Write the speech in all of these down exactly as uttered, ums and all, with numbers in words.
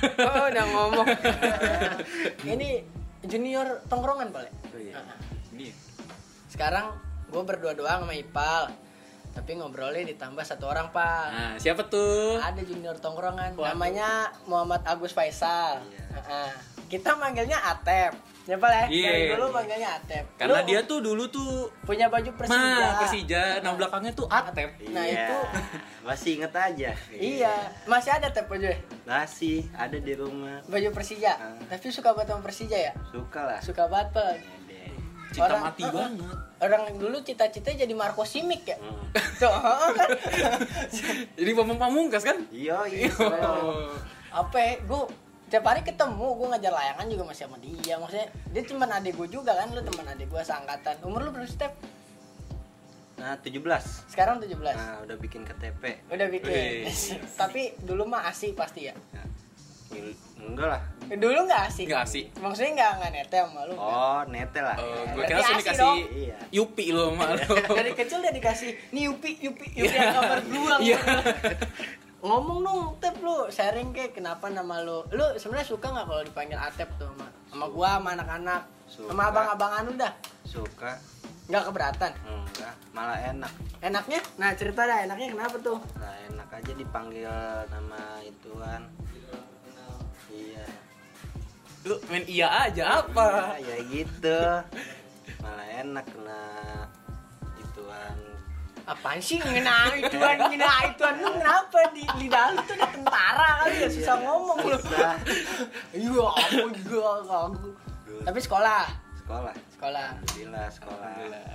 Oh, udah ngomong. Ini junior tongkrongan Pal. Oh iya. Ini. Sekarang gue berdua doang sama Ipal. Tapi ngobrolnya ditambah satu orang, Pak. Nah, siapa tuh? Ada junior tongkrongan. Waduh. Namanya Muhammad Agus Faisal. Iya. Heeh. Kita manggilnya Atep. Ya, Pak ya? Iya. Dari dulu manggilnya Atep. Karena Lu dia tuh dulu tuh punya baju Persija. Nah, Persija, nah belakangnya tuh Atep. Nah, Iya. itu Masih inget aja. iya, masih ada Tep baju. Masih ada di rumah. Baju Persija. Ah. Tapi suka banget sama Persija ya? Suka lah. Suka banget, Pak. Deh. Cinta Orang- mati uh-uh. banget. Orang dulu cita-citanya jadi Marco Simic ya. Hmm. Tuh, heeh kan. Jadi Bambang Pamungkas kan? Iya, iya. Oh. Apa ya, gue tiap hari ketemu, gue ngajar layangan juga masih sama dia. Maksudnya dia teman adik gue juga kan, lu teman adik gue seangkatan. Umur lu berapa sih, Tep? Nah, tujuh belas. Sekarang tujuh belas. Nah, udah bikin K T P. Udah bikin. Wih. Tapi dulu mah asik pasti ya. Nah, il- enggak lah. Dulu nggak asik. Nggak asik. Maksudnya nggak nggak nete sama lu. Oh, nete lah. Oh, Berarti gue kira langsung asik dikasih dong. Iya. Yupi lo sama lo. Dari kecil dia dikasih nih Yupi, Yupi, Yupi yang kabar beruang. Iya. Ngomong dong, Tep, lu sharing kayak kenapa nama lu. Lu sebenarnya suka nggak kalau dipanggil Atep tuh sama sama gua, sama anak-anak, Suka. sama abang-abangan udah? Suka. Nggak keberatan. Enggak, malah enak. Enaknya? Nah, cerita dah enaknya kenapa tuh? Nah, enak aja dipanggil nama ituan. Iya. Lu main iya aja apa? Ya, ya gitu. Malah enak kena ituan. Apaan sih ngena ituan, ngena ituan lu kenapa di lidah lu tuh ada tentara kali ya, susah ngomong lu. Susah. Iya, aku juga kagu. Tapi sekolah, Sekolah. sekolah. Alhamdulillah sekolah.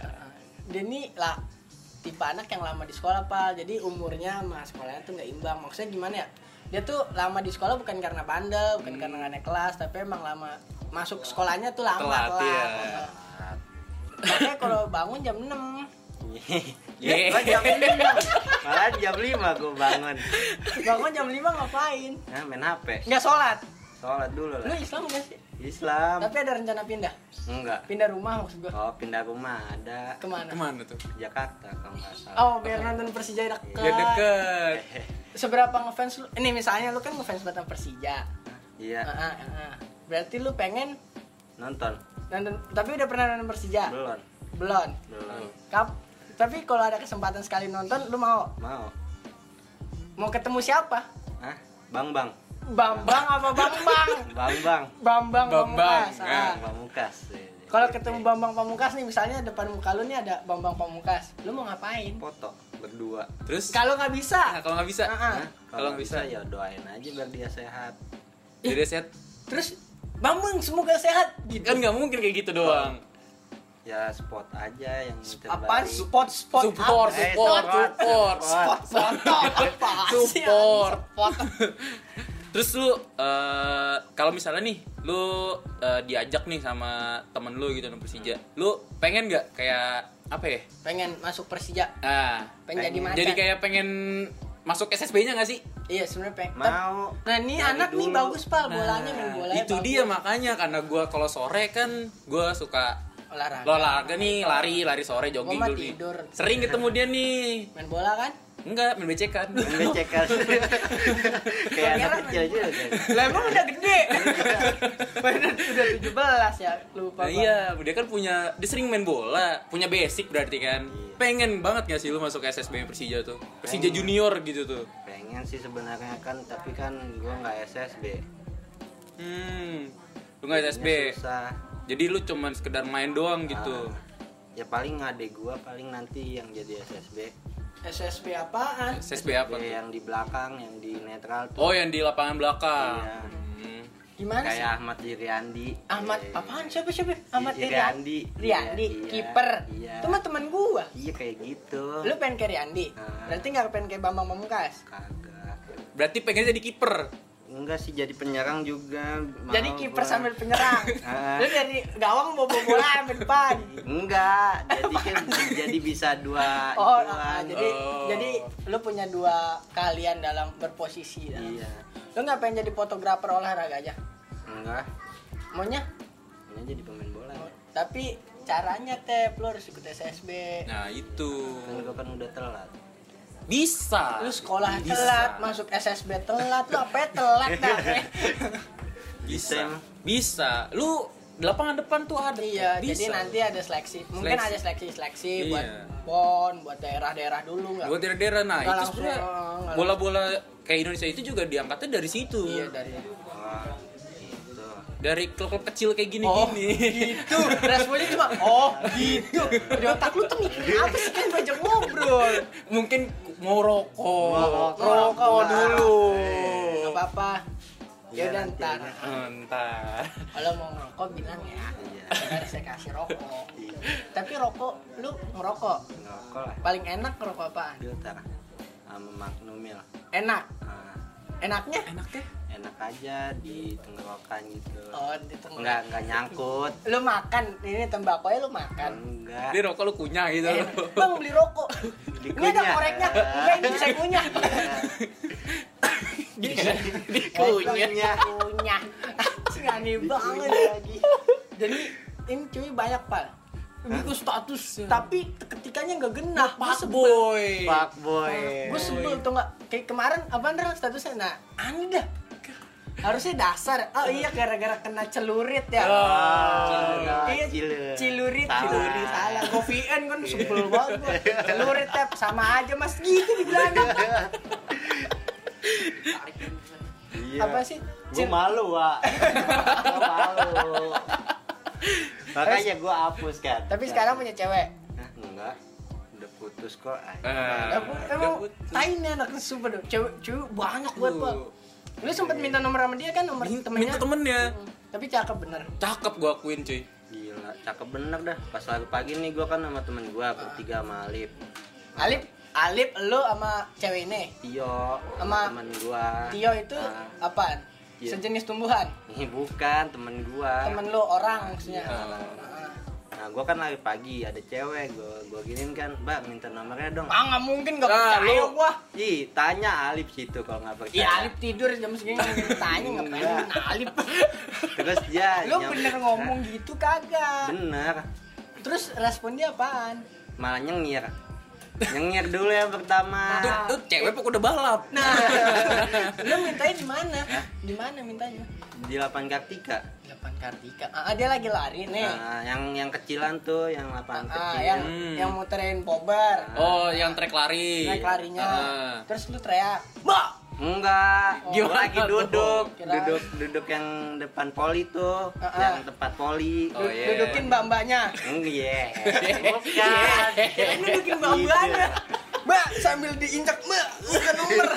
Dia nih lah tipe anak yang lama di sekolah, Pak. Jadi umurnya sama sekolahnya tuh nggak imbang. Maksudnya gimana ya? Dia tuh lama di sekolah bukan karena bandel, bukan Hmm. karena nggak naik kelas, tapi emang lama masuk sekolahnya tuh lama Telat, telat. iya. Makanya kalau bangun jam enam. Ye. Oh, jam lima. Malah jam lima gue bangun. Bangun jam lima ngapain? Nah, main H P. Nggak sholat. Sholat dulu Lu lah. Islam nggak sih? Islam. Tapi ada rencana pindah? Enggak. Pindah rumah maksud gua. Oh, pindah rumah ada. Kemana? Kemana tuh? Jakarta kalau nggak salah. Oh, biar nonton Persija deket. Biar deket. Seberapa ngefans lu? Ini misalnya lu kan ngefans banget sama Persija. Iya. Ah, ah, ah. Berarti lu pengen Nonton. nonton, tapi udah pernah nonton Persija? Belum. Belum. Belum. Kap, tapi kalau ada kesempatan sekali nonton, lu mau? Mau. Mau ketemu siapa? Hah? Bang Bang. Bambang apa Bambang? Bang Bang. Bambang Bambang, Pamungkas. ya. Ah. Pamungkas. Kalau ketemu Bambang Pamungkas nih, misalnya depan muka lu nih ada Bambang Pamungkas, lu mau ngapain? Foto berdua. Terus? Kalau nggak bisa, Nah, kalau nggak bisa, Ah, ah. Hah? Kalau Kalau nggak bisa bisa? ya doain aja biar dia sehat. jadi set. terus Bambang semoga sehat gitu. Kan nggak mungkin kayak gitu doang. Ya spot aja yang Apaan terbaik. spot spot Support, apa? Eh, support, support. support. Spot foto apa sih? Support. Spot. Terus lu eh, kalau misalnya nih lu eh, diajak nih sama temen lu gitu nonton Persija, lu pengen nggak kayak apa ya? Pengen masuk Persija, Ah, pengen, jadi Pengen. macan. jadi kayak pengen masuk S S B-nya nggak sih? iya sebenarnya pengen. Mau. Nah ini Dari anak nih dulu. bagus pal, bolanya main bola. itu dia makanya karena gua kalau sore kan gua suka olahraga. olahraga nih, lari, lari sore jogging Gua mah dulu nih. tidur. Sering ketemu dia nih. Main bola kan? Enggak, main becekan. Becekal. Kayak anak Kira kecil juga. Lah emang udah gede. Udah udah tujuh belas ya, lupa. Nah, gua. iya, dia kan punya, dia sering main bola, punya basic berarti kan. Iya. Pengen banget gak sih lu masuk S S B Persija tuh? Persija Pengen. Junior gitu tuh. Pengen sih sebenarnya kan, tapi kan gua nggak S S B. Hmm. Lu gak S S B. Jadinya Susah. Jadi lu cuman sekedar main doang gitu. Ah, ya paling adek gua paling nanti yang jadi S S B. S S B apaan? S S B apa Ya, tuh? yang di belakang, yang di netral tuh. Oh, yang di lapangan belakang. Iya. Hmm. Gimana sih? Kayak Ahmad Iriandi. Ahmad Eh, apaan siapa siapa? Ahmad Iriandi. Iriandi. Riandi, Iya, iya. kiper. Iya. Itu mah teman gua. Iya kayak gitu. Lu pengen kayak Riandi? Ah. Berarti nggak pengen kayak Bambang Pamungkas? Kagak. Berarti pengen jadi kiper. Enggak sih, jadi penyerang juga. Mau Jadi kiper gua. sambil penyerang. Ah. Lu dari gawang bawa bola sampai depan. Enggak, jadi kan jadi bisa dua Oh, ituan. ah, ah, jadi Oh. jadi lu punya dua kalian dalam berposisi. dalam- Iya. Lu nggak pengen jadi fotografer olahraga aja? Enggak. Maunya? Ini jadi pemain bola. Oh, tapi caranya teh lu harus ikut S S B. Nah, itu. Kan gua kan udah telat. Bisa. Lu sekolah Bisa. telat, masuk S S B telat, lu apa ya telat dah. Bisa. emang. Bisa. Lu di lapangan depan tuh ada. Iya, Bisa. jadi nanti ada seleksi. Mungkin Seleksi. ada seleksi-seleksi Iya. buat pon, buat daerah-daerah dulu enggak? Buat daerah-daerah, nah Nggak itu langsung, sebenarnya oh, nggak bola-bola kayak Indonesia itu juga diangkatnya dari situ. Iya, dari Wah, gitu. Dari klub-klub kecil kayak Oh, gini-gini. gitu. Responnya cuma oh, gitu. Di otak lu tuh mikirin apa sih kan banyak ngobrol. Mungkin mau rokok. Rokok. Rokok dulu. Eh. Enggak apa-apa. Ya Iya, udah nanti ntar. aja. Entar. Kalau mau ngerokok bilang ya. Iya. Ntar saya kasih rokok. Iya. Tapi rokok lu ngerokok. Ngerokok lah. Paling enak ngerokok apaan? Filter sama Magnumil. Enak. Nah, Enaknya? Enaknya? enak aja di tenggorokan gitu. Oh, di tengah. Enggak, enggak nyangkut. Lu makan ini tembakonya lu makan. Enggak. Dia rokok lu kunyah gitu. Eh, bang beli rokok. Di Ini ada kunyah. koreknya. Enggak ini saya kunyah. Di Kunyah. Kunyah. Anjing aneh banget lagi. Jadi ini cuy banyak pal. Ini gue status, tapi ketikanya nggak genah. Gua Pak sebel. boy. Pak boy. Gue sebel tuh nggak. Kayak kemarin apa nih statusnya? Nah, aneh dah. Harusnya dasar. Oh iya gara-gara kena celurit ya. Oh, Iya, cilurit. cilurit, Salah. cilurit salah. Gue V N kan sebel banget. gua. Celurit tap sama aja mas gitu dibilang. Iya. Apa sih? Gue malu, Wak. Gue malu. Makanya gue hapus kan. Tapi sekarang punya cewek. Nah, enggak. Udah putus kok. Eh, Emang, udah emang putus. tai nih anaknya super dong. Cewek, cewek banyak buat Tuh. gua. Lu sempet minta nomor sama dia kan nomor Minta temennya? minta temennya. Hmm, Tapi cakep bener. Cakep gua akuin cuy. Gila, cakep bener dah. Pas lagi pagi nih gue kan sama temen gue bertiga sama Alif. Alip, Alip lu sama cewek ini. Tio Sama sama temen gue. Tio itu Nah, apaan? Iya. Sejenis tumbuhan. ini bukan temen gue. Temen lu orang maksudnya. Ah. Ah. Nah, gue kan lagi pagi ada cewek, gue gue giniin kan, Mbak minta nomornya dong. Ah nggak mungkin nggak Ah, percaya lu- gua. Ih, tanya Alif situ kalau nggak percaya. Iya Alip tidur jam segini nggak tanya ngapain Enggak. nah, Alip. Terus dia Lu nyam- bener ngomong gitu kagak. Hah? Bener, Terus respon dia apaan? malah nyengir. Nyengir dulu yang pertama. Tuh, tuh cewek pokok udah balap. Nah, lu mintanya di mana? Di mana mintanya? Di lapangan Kartika. delapan Kartika. Ah, dia lagi lari nih. Nah, yang yang kecilan tuh, yang lapangan Ah, kecil. yang Hmm. yang muterin pobar. Oh, yang trek lari. Naik larinya. Ah. Terus lu teriak, "Mbak!" Enggak, Oh. gua lagi duduk, Kirain. duduk duduk yang depan poli tuh, Ah, ah. yang tempat poli. Oh, Du- iya. Dudukin mbak-mbaknya. Enggak, bukan. Kirain dudukin mbak-mbaknya. Mbak, sambil diinjak, Mbak. Bukan nomor.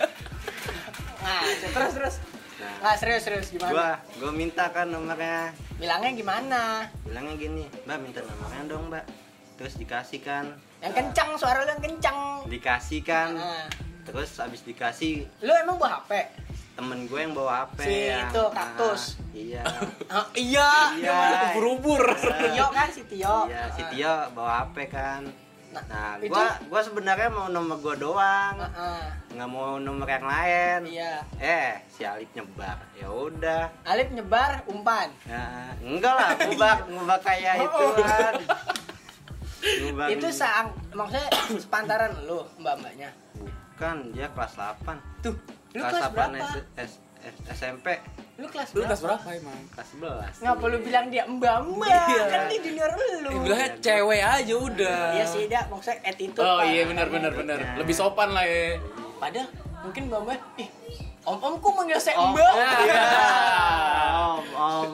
Nah, terus terus. Nah, serius serius gimana? Gua gua minta kan nomornya. Bilangnya gimana? Bilangnya gini, Mbak minta nomornya dong, Mbak. Terus dikasih kan. Yang kencang, suara lu yang kencang. Dikasih kan. Nah, Terus abis dikasih, lu emang bawa H P? temen gue yang bawa H P. Si yang- itu, kaktus. Ah, iya. Ah, iya. Iya. Ubur-ubur. Si Tio kan si Tio. Iya, si Ah. Tio bawa H P kan. Nah, Nah, itu- gua gua sebenarnya mau nomor gua doang. Ah, ah. Nggak mau nomor yang lain. Iya. Eh, si Alif nyebar. Ya udah. Alip nyebar umpan. Ya, enggak lah, ngubah ngubah kayak Oh. itu kan. Ngubah Itu saang maksudnya sepantaran lu, Mbak-mbaknya. bukan, dia kelas delapan. Tuh, lu kelas kelas delapan berapa? S- S- S- S M P, Lu kelas Lu berapa? kelas berapa emang? kelas sebelas. Ngapa lu bilang dia mbak-mbak? Iya. Kan dia junior lu. Eh, bilangnya cewek aja udah. Iya sih, dia maksudnya attitude. Oh Pak. iya benar benar benar. Iya. Lebih sopan lah ya. Padahal mungkin mbak-mbak, ih, om-om kok manggil saya Oh, mbak? iya. Om, om.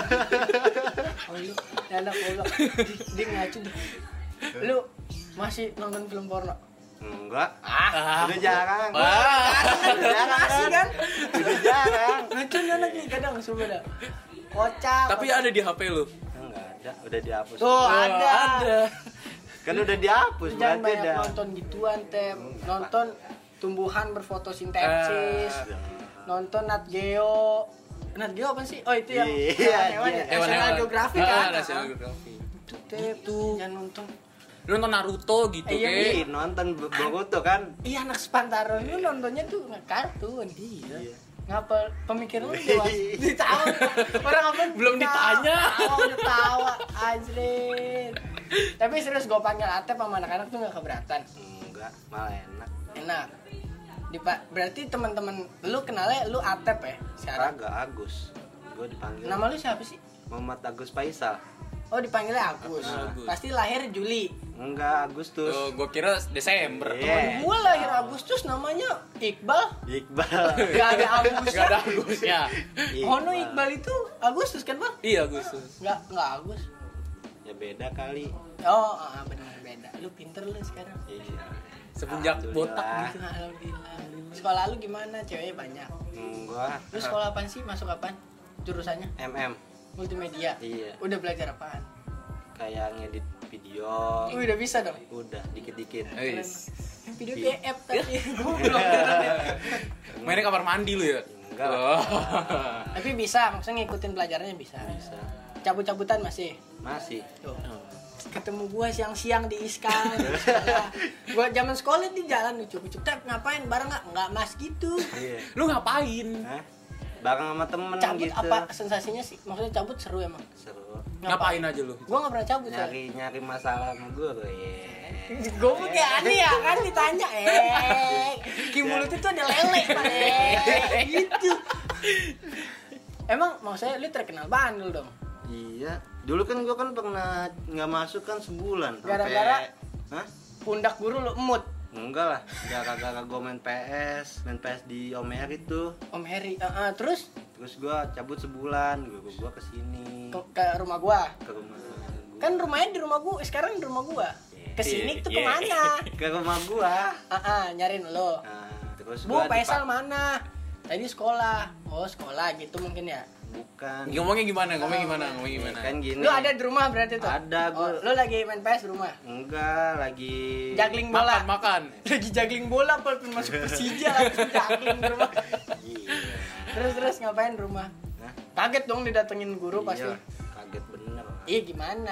Oh, lu enak goblok. Dia- Dia ngacu deh. Lu masih nonton film porno? Enggak. Ah, Udah jarang. Ah. Udah jarang masih kan? Udah jarang. Ngacu nih anak nih kadang sumpah dah. Kocak. Tapi ada di H P lu. Enggak ada, udah dihapus. Tuh Oh, ada. Ada. Kan udah dihapus, Jangan berarti banyak udah. nonton gituan, Tep. Nonton tumbuhan berfotosintesis. Eh. Nonton Nat Geo. Nat Geo apa sih? Oh, itu yang Iya, hewan-hewan iya. ya? National Geographic kan? Ah, National Geographic. Itu, Tep. Jangan nonton. Lu nonton Naruto gitu Iya, kayak. Ih, nonton B- Boruto kan. Iya, anak sepantaran lu nontonnya tuh nggak kartun. Iya. Ngapa pemikiran lu dewasa? Ditawa. Orang apa? Belum ditanya. Tawa, udah tawa. Anjir. Tapi serius gue panggil Atep sama anak-anak tuh nggak keberatan. Enggak, malah enak. Enak. Di berarti teman-teman lu kenalnya lu Atep ya sekarang? Kagak, Agus. Gue dipanggil. Nama lu siapa sih? Muhammad Agus Faisal. Oh dipanggilnya Agus. Agus. Pasti lahir Juli. Enggak, Agustus. Oh, gua kira Desember. Iya. Gua lahir Agustus namanya Iqbal. Iqbal. Gak ada Agus. Gak ada Agusnya. Hono Iqbal itu Agustus kan bang? Iya, Agustus. Nggak nggak Agus. Ya beda kali. Oh ah, benar beda. Lu pinter lu sekarang. Iya. Semenjak botak Alhamdulillah. gitu. Alhamdulillah. Sekolah lu gimana? Ceweknya banyak. Enggak. Lu sekolah apaan sih? Masuk apaan? Jurusannya? M M. Multimedia. Iya. Udah belajar apaan? Kayak ngedit video. Oh, udah bisa dong. Udah dikit-dikit. Wis. Video Iya. B F tadi. Goblok. Mainnya kamar mandi lu ya? Enggak. Oh. Tapi bisa, maksudnya ngikutin pelajarannya bisa. Bisa. Cabut-cabutan masih. Masih. Tuh. Ketemu gua siang-siang di Iskan di sekolah. Gua zaman sekolah di jalan lucu-lucu. Tep ngapain bareng nggak? Nggak mas gitu. Iya. Lu ngapain? Hah? Bareng sama temen Cabut gitu. apa sensasinya sih? Maksudnya cabut seru emang. Seru. Ngapain aja lu? Gua nggak pernah cabut. soalnya. Nyari nyari masalah sama gue tuh. Iya. Gue kayak aneh ya kan ditanya eh Ki mulut itu ada lele pak eh gitu. Emang mau saya lu terkenal bandel dong. Iya. Dulu kan gue kan pernah nggak masuk kan sebulan. sampai- Gara-gara? Hah? Pundak guru lu emut. Enggak lah. Gara-gara gue main P S, main P S di Om Heri tuh. Om Heri, uh, uh, terus Terus gue cabut sebulan, gue gue kesini ke, ke rumah gua. ke rumah. gua. Kan rumahnya di rumah gua, sekarang di rumah gua. Kesini tuh Yeah. kemana? Ke rumah gue. Ah, uh, nyariin lo. Nah, terus Bu, gua Faisal dipak- mana? Tadi sekolah. Oh, sekolah gitu mungkin ya. Bukan. Ngomongnya gimana? Ngomongnya gimana? Ngomongnya gimana? Kan gini. Lu ada di rumah berarti tuh? Ada, Oh, gua. lu lagi main P S di rumah? Enggak, lagi Juggling bola. Makan, makan. Lagi juggling bola, walaupun masuk Persija langsung juggling di rumah. Iya. Terus terus ngapain di rumah? Hah? Kaget dong didatengin guru pasti. Iya, kaget bener. Iya gimana?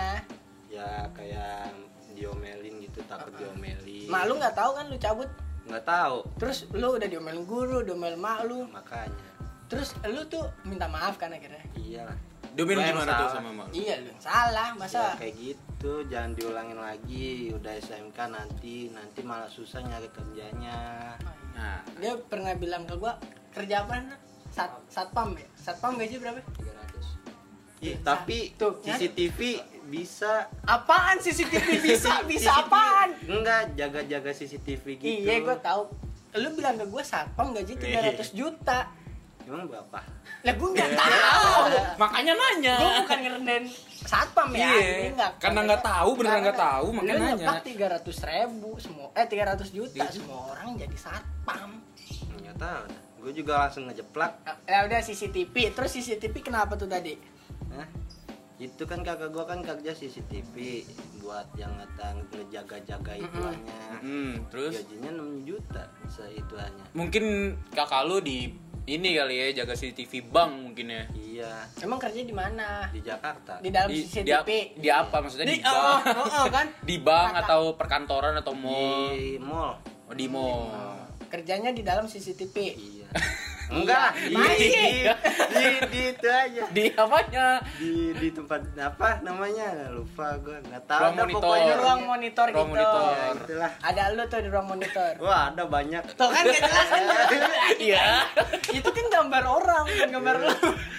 Ya kayak diomelin gitu, takut diomelin. Mak lu nggak tahu kan lu cabut? Nggak tahu, Terus lu udah diomelin guru, diomelin mak lu. makanya. Terus lu tuh minta maaf kan akhirnya? Iyalah. Domain Gua yang gimana tuh salah. sama mak? Iya lu yang salah, Ya, masa? kayak gitu, jangan diulangin lagi. Udah S M K nanti, nanti malah susah nyari kerjanya. Nah, Dia pernah bilang ke gua kerja apa? Sat satpam ya? Satpam gaji berapa? tiga ratus. Ih, tapi Tuh, kan? C C T V bisa. Apaan C C T V bisa? Bisa apaan? Enggak, jaga-jaga C C T V gitu. Iya gua tahu. Lu bilang ke gua satpam gaji tiga ratus juta. Emang berapa? Lah gua nggak tahu. makanya nanya. Gua bukan ngerendahin satpam ya. Iya. Ini nggak. Karena nggak tahu, beneran nggak tahu, makanya Lu nanya. nyeplak tiga ratus ribu semua. Eh tiga ratus juta Iya. semua orang jadi satpam. Enggak tahu. Gue juga langsung ngejeplak. Ya udah C C T V. Terus C C T V kenapa tuh tadi? Nah, itu kan kakak gua kan kerja C C T V buat yang ngata ngejaga-jaga ituannya. Hmm, terus Gajinya enam juta seituannya. mungkin kakak lu di ini kali ya, jaga C C T V bank mungkin ya. Iya, Emang kerja di mana? di Jakarta. Di dalam Di, C C di, T V. ap- di apa maksudnya di, Di oh, bank? oh, oh, kan? Di bank Kata- atau perkantoran atau mall? Di mall. Oh, di mall. Kerjanya di dalam C C T V. Iya. Enggak lah, di, Masih. di, di, di itu aja. Di apanya? Di di tempat apa namanya? Lupa gua, enggak tahu Ruang dah monitor. pokoknya. Ruang monitor Ruang gitu. monitor. Ya, itulah. Ada lu tuh di ruang monitor. Wah, ada banyak. Tuh kan gak jelas kan? Iya. Itu kan gambar orang, bukan gambar lu.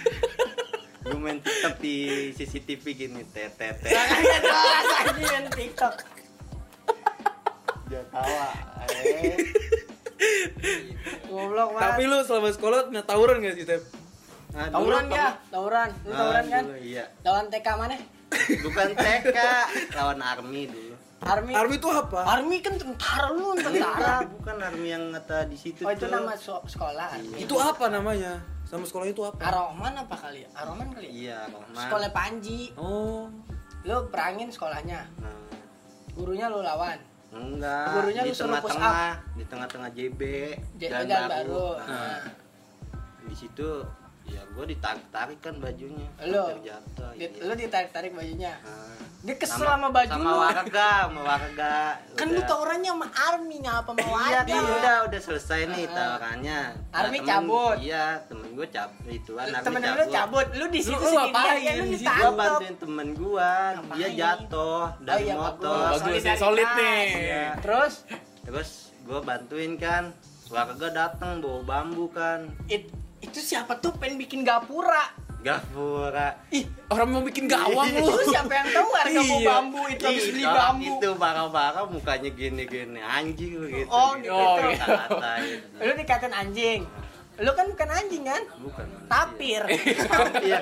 Gue main TikTok di C C T V gini, tete. Kan gak jelas aja yang TikTok. Dia tawa. Eh. Goblok Tapi banget. lu selama sekolah pernah tawuran gak sih, Tep? Nah, dulu Tawuran pernah- ya, tawuran. Lu Ah, tawuran kan? dulu, Iya. Lawan T K mana? Bukan T K, lawan Army dulu. Army. Army itu apa? Army kan tentara lu, Enggak, tentara. bukan Army yang ngata di situ Oh itu tuh. nama so- sekolah. Army. Itu apa namanya? Sama sekolah itu apa? Aroman apa kali ya? Aroman kali ya? Iya, Rahman. Sekolah Panji. Oh. Lu perangin sekolahnya. Nah, Gurunya lu lawan. enggak. Gurunya di lu suruh push tengah-tengah, di tengah-tengah J B, J- Jalan Jalan baru. Baru. Nah, Nah. di situ ya gue ditarik-tarik kan bajunya. Lu? Hampir jatuh. Di- iya. Lu ditarik-tarik bajunya. Nah, Dia kesel sama baju sama lu. warga, sama warga. Kan lu Udah. tawurannya sama Army ngapa sama Iya, warga? kan udah udah selesai nih Ah. tawarannya. Army temen- cabut. Iya, temen gue cabut ituan. Army Temen lu cabut, lu di situ Lu sendirian, ngapain ya, lu di situ? Gua ditangkap. bantuin temen gua, dia Ngapain? jatuh dari Oh iya, motor. bagus. Bagus, Solidaritas. solid nih. Iya. Terus Terus Gua bantuin kan. Warga datang bawa bambu kan. It, itu siapa tuh pengen bikin gapura? Gapura. Ih, orang mau bikin gawang lu. Itu siapa yang tahu harga mau Iya. bambu itu habis beli Ih, bambu. Itu bakal-bakal mukanya gini-gini anjing begitu. Oh, gitu. Oh, gitu. gitu. Kata-katain. Lu dikatain anjing. Lu kan bukan anjing kan? Bukan manusia. Tapir. Iya.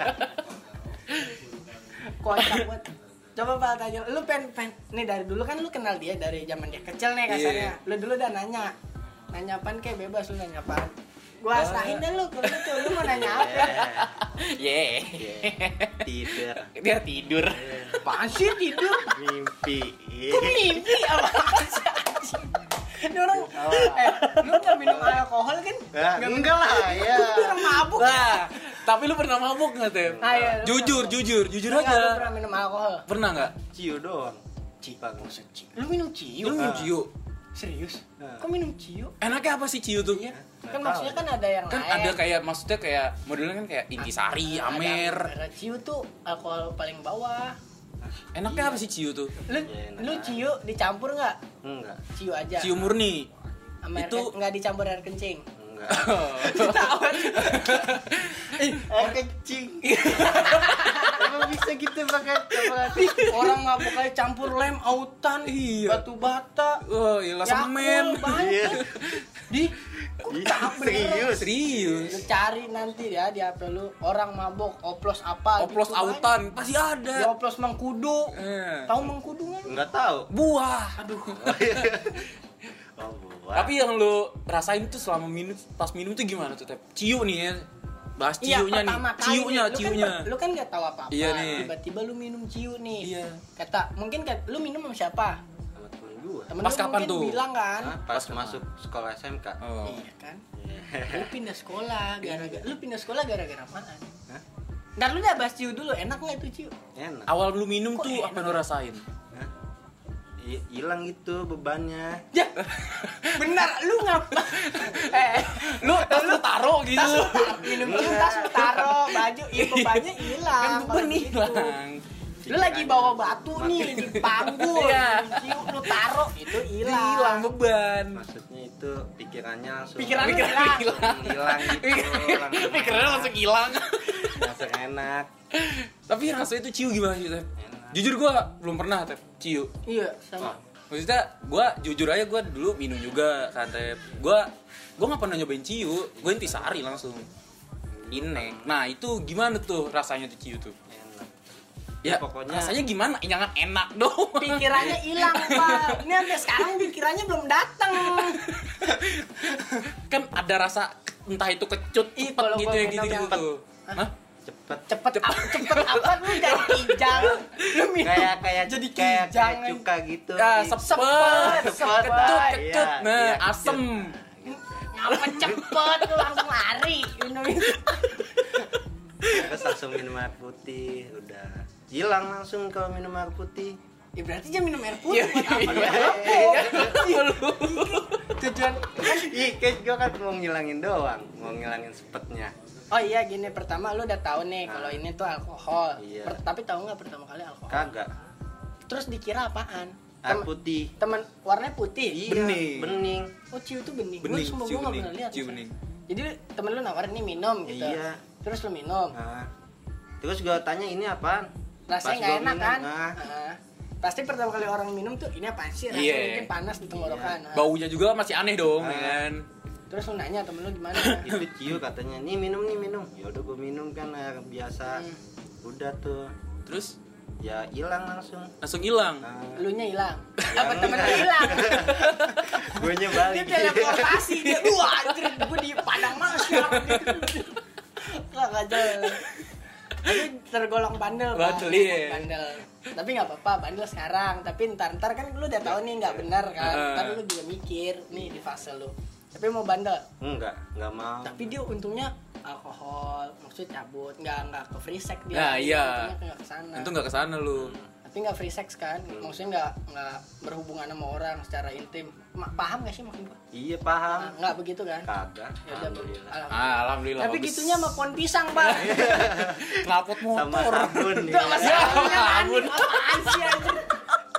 Kocak banget. Coba Pak tanya, lu pengen, pengen nih dari dulu kan lu kenal dia dari zaman dia kecil nih kasarnya. Iya. Lu dulu udah nanya. Nanya apaan kayak bebas lu nanya apaan. Gua serahin deh lu kalau gitu. Lu mau nanya apa? Ye. Iya. Tidur. Dia tidur. Apaan sih tidur? Mimpi. Kok mimpi apa sih anjing? Ini orang, eh, lu gak minum alkohol kan? Ya, Nggak enggak lah, minum- ya. Lu orang mabuk. Nah, tapi lu pernah mabuk nggak, Tem? Ah, iya, lu Jujur, pernah. jujur, jujur Enggak, lu aja. pernah minum alkohol? Pernah nggak? Ciu doang. Ciu. Lu minum ciu? Lu minum Ah. ciu. Serius? Nah. Kok minum ciu? Enaknya apa sih ciu tuh? Iya. Nggak Kan tahu. maksudnya kan ada yang Kan lain. ada kayak maksudnya kayak modelnya kan kayak intisari, Ada- amer. ada ciu tuh alkohol paling bawah. Enaknya apa sih ciu tuh? Lu Ya, enak. lu ciu dicampur nggak? Enggak. Ciu aja. Ciu murni. Sama air itu- ke- nggak dicampur air kencing. Enggak. Tahu. Oh kencing. Emang bisa gitu pakai coba. Orang mabuk aja campur lem, autan, Iya. batu bata. Oh, iya Yakult, semen. banyak. Iya. Di kok Iya, capek serius. Serius. Lu cari nanti ya di H P lu orang mabok oplos apa Oplos gitu, banyak. autan pasti Di ada. oplos mengkudu. Eh. Tahu mengkudu nggak? Enggak tahu. Buah. Aduh. Oh, buah. Tapi yang lu rasain tuh selama minum pas minum tuh gimana tuh, Tep? Ciu nih ya. Bahas Iya, ciunya nih. pertama kali Ciunya, nih, lu ciunya. Kan, lu kan nggak tahu apa-apa. Iya nih. Tiba-tiba lu minum ciu nih. Iya. Kata, mungkin kan lu minum sama siapa? Sama temen gua. Temen Pas lu kapan mungkin tuh? bilang kan. Hah? Pas masuk sekolah S M K. Oh. Iya kan. Lu pindah sekolah gara-gara lu pindah sekolah gara-gara apaan? Hah? Ntar lu udah bahas ciu dulu, enak nggak itu ciu? Enak. Awal lu minum Kok tuh enak? apa yang lu rasain? Hah? I- Hilang gitu bebannya. Ya, benar lu ngapa? eh, Lu tas lu taruh gitu. tas lu taruh, minum ciu tas lu taruh, baju, iya bebannya Kan hilang. beban kalau gitu. hilang. Lu lagi bawa batu nih di panggul, Iya. minum ciu lu taruh itu hilang. Hilang beban. Maksudnya itu pikirannya langsung Pikirannya Pikiran hilang. hilang. hilang gitu. langsung Pikirannya langsung hilang. langsung enak. Tapi rasanya itu ciu gimana sih, Tep? Enak. Jujur gua belum pernah, Tep. Ciu. Iya, sama. Maksudnya gua jujur aja gua dulu minum juga kan, Tep. Gua gua nggak pernah nyobain ciu. Gua intisari langsung. Inek. Nah, itu gimana tuh rasanya tuh ciu tuh? Enak. Ya, pokoknya- rasanya gimana? Jangan enak dong. Pikirannya hilang, Pak. Ini sampai sekarang pikirannya belum datang. Kan ada rasa entah itu kecut, Ih, cepet kalau gitu gua ya minum gitu yang gitu. Hah? Cepet. Cepet apa? Cepet apa lu jadi kijang? Lu minum Kayak kayak jadi kayak, kijang. kayak cuka gitu. Ya, Ih, sepet, Sepet, sepet, sepet. kecut, Iya, kecut. Nah, iya, kecut. asem. Ngapa cepet lu langsung lari minum itu. Terus langsung minum air putih, udah hilang langsung kalau minum air putih. Ya berarti jangan minum air putih Iya, buat apa? iya, Ya, iya. apa? Tujuan Ih, kayak gue kan mau ngilangin doang, mau ngilangin sepetnya. Oh iya gini, pertama lu udah tahu nih kalau ini tuh alkohol. Iya. Per- tapi tahu nggak pertama kali alkohol? Kagak. Terus dikira apaan? Air Tem- putih. Temen warnanya putih. Iya, Bening. bening. Oh ciu tuh bening. Bening, Gua sumpah ciu gua nggak bening, pernah lihat. ciu Mas. bening. Jadi temen lu nawarin nih minum gitu. Iya. Terus lu minum. Nah, terus gue tanya ini apaan? Rasanya Pas nggak gua enak minum, kan? nah, Nah, pasti pertama kali orang minum tuh ini apaan sih? Rasanya Iya. mungkin panas di tenggorokan. Nah, Baunya juga masih aneh dong, Ah. ya kan? Terus lu nanya temen lu gimana? itu ciu katanya, nih minum nih minum. Ya udah gue minum kan air biasa. Hmm. Udah tuh, Terus ya hilang langsung. langsung hilang. Nah, Elunya hilang. Ya, Apa temen lu enggak. hilang? gue Dia balik. teleportasi dia. Wah, anjir gue di padang masyar. Enggak enggak jelas. Tapi tergolong bandel, Pak. Bandel, iya. Bandel. Tapi nggak apa-apa, bandel sekarang. Tapi ntar ntar kan lu udah tahu nih nggak benar kan. Heeh. Ntar lu juga mikir nih di fase lu. Tapi mau bandel. Enggak, enggak mau. Tapi dia untungnya alkohol, maksudnya cabut, nggak nggak ke free sex dia. Nah, iya. Untungnya nggak kesana. Itu nggak kesana lu. Tapi nggak free sex kan, maksudnya nggak nggak berhubungan sama orang secara intim. Ma- paham nggak sih maksud gua? Iya Nah, paham. nggak begitu kan? Kagak. Ya udah, Alhamdulillah. alhamdulillah. Ah, alhamdulillah. Tapi bagus. gitunya sama pohon pisang, Pak. Knalpot Sama motor. sabun. Enggak ya. masih Ya, sabunnya kan. sabun. Apaan sih anjir?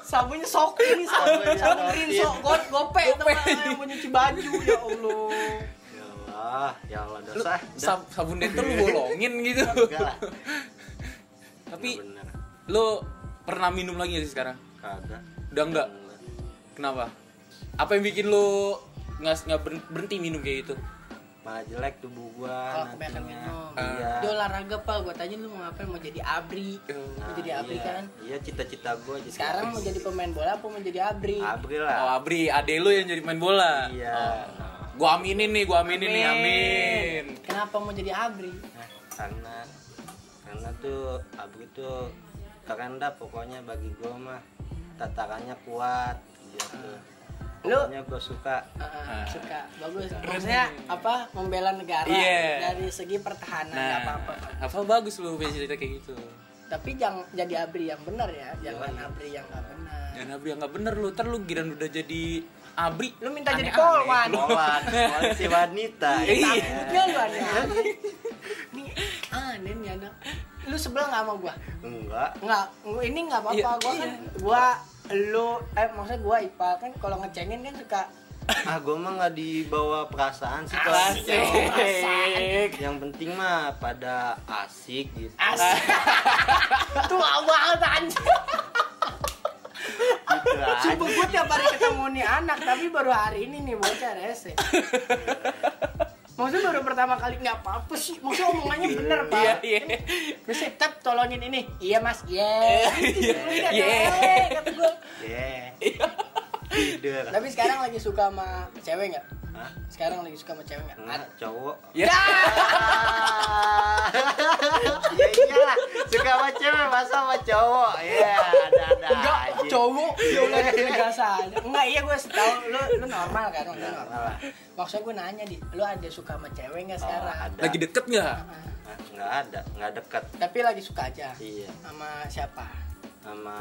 Sabunnya sok ini sabun Sabunnya sabun Sokin. Rinso got gope teman yang mau nyuci baju ya Allah. Ya Allah, ya Allah Lu, dosa. sab, sabun detol lu bolongin gitu. Enggak lah. Tapi Nggak bener. lu pernah minum lagi gak sih sekarang? Kagak. Udah enggak? Kenapa? Apa yang bikin lu nggak nggak berhenti minum kayak gitu? Malah jelek tubuh gua Kalau kebanyakan nantinya. minum. Iya. Dia olahraga Pak, gua tanya lu mau ngapain? Mau jadi abri. Nah, Mau jadi abri iya. kan? Iya, cita-cita gua jadi Sekarang mau jadi pemain bola apa mau jadi abri? abri Oh, lah. Abri, ade lu yang jadi main bola. Iya. Oh. Gua aminin nih, gua aminin nih, amin. Kenapa mau jadi abri? Nah, karena karena tuh abri tuh keren dah pokoknya bagi gua mah. Tatarannya kuat gitu. Lu Pokoknya gua suka. uh, suka bagus. Maksudnya apa? Membela negara Iya. dari segi pertahanan nggak Nah, apa-apa. apa bagus lu punya cerita kayak gitu. Tapi jangan jadi abri yang benar ya, jangan Iya. abri yang nggak benar. Dan Abri yang nggak bener lu, ntar lu giran udah jadi Abri. Lu minta jadi aneh-aneh. polwan. Polwan, polisi wanita. Iya. Takutnya lu aneh. Ini aneh nih anak. Lu sebel nggak sama gua? Enggak. Nggak, gua- ini nggak apa-apa. Iya, Gua kan, iya. gua, lu, eh maksudnya gua Ipa kan kalau ngecengin kan suka Ah, gua mah nggak dibawa perasaan sih kalau Asik. Asik. yang penting mah pada asik gitu. asik. Tua banget anjir. Gitu aja. Sumpah gua tiap hari ketemu nih anak, tapi baru hari ini nih bocah rese. Maksudnya baru pertama kali nggak apa-apa sih. Maksudnya omongannya bener Pak. Iya, iya. Terus Tep tolongin ini. Iya Mas. Iya. Iya. Iya. Kata gua. Yeah. Tidur. Tapi sekarang lagi suka sama cewek nggak? Hah? Sekarang lagi suka sama cewek nggak? Enggak, cowok. Ya. Ya iyalah, suka sama cewek masa sama cowok. Iya, ada-ada Enggak, aja. cowok. Ya udah biasa aja. Enggak, iya gue tahu lu lu normal kan, lu Normal normal. lah. Maksudnya gue nanya di, lu ada suka sama cewek nggak Oh, sekarang? ada. Lagi deket nggak? Ah, Hah, Nggak ada, nggak dekat. tapi lagi suka aja. Iya, Sama siapa? sama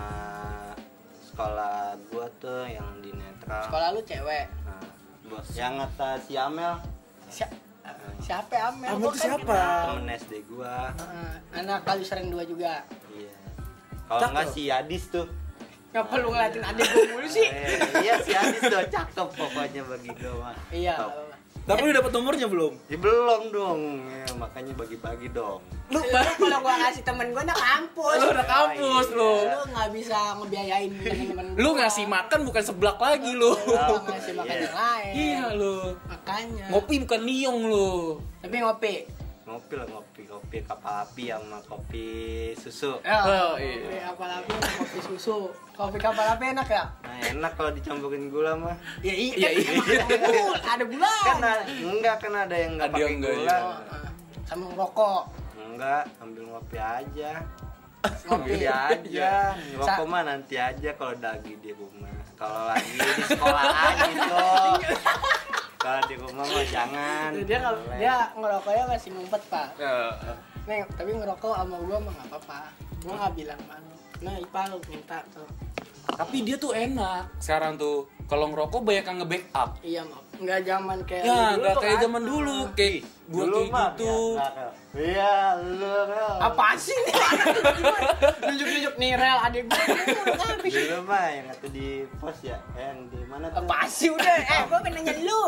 sekolah gua tuh yang di netral. Sekolah lu cewek. Nah, bos yang atas si Amel, Si- siapa Amel? Amel Gua tuh kan siapa? kenal. temen S D gua. Ah, anak kali sering dua juga. Iya. Kalau Cakep. nggak si Adis tuh. Nggak perlu ngeliatin adik gue mulu sih. Eh, iya si Adis tuh cakep pokoknya bagi gua mah. Iya. Top. nggak apa-apa. Tapi lu dapet nomornya belum? Ya belum dong, ya, makanya bagi-bagi dong. Lu kalau gua ngasih temen gua anak kampus. Lu udah kampus lu. Lu nggak bisa ngebiayain temen-temen Lu gua. ngasih makan bukan seblak lagi lu. Lu nggak ngasih makan Iya. yang lain. Iya lu. Makanya. Ngopi bukan liong lu. Tapi ngopi. Ngopi lah ngopi, kopi kapal api sama kopi susu. Oh, kopi iya. kapal api, kopi susu. Kopi kapal api enak ya? Nah enak kalau dicampurin gula mah. Ya iya. Iya, iya. Ada gula. Kan ada, enggak kan ada yang nggak Ada pakai yang enggak, gula. iya. Sama ngerokok. Enggak, ambil ngopi aja. Ngopi. Ngopi aja. Ngerokok Sa- mah nanti aja kalau lagi di rumah. Kalau lagi di sekolah aja tuh. Kalau di rumah mah jangan. Dia kalau Boleh. dia ngerokoknya masih ngumpet pak. Ya. Nih tapi ngerokok sama gua mah nggak apa-apa. Gua nggak bilang malu. Nah Ipa lu minta tuh. Tapi dia tuh enak. Sekarang tuh kalau ngerokok banyak yang nge-backup. Iya mau. Nggak zaman kayak Ya, dulu nggak tuh kayak kan. zaman dulu, kayak gua Dulu kayak mah, gitu. ya, Rel. Iya, lu Rel. Apa sih nih? Nunjuk-nunjuk nih rel adik gua. Ngapain sih? Dulu mah yang itu di pos ya, eh, yang di mana tuh? Apa sih udah? Eh, gua kan nanya lu.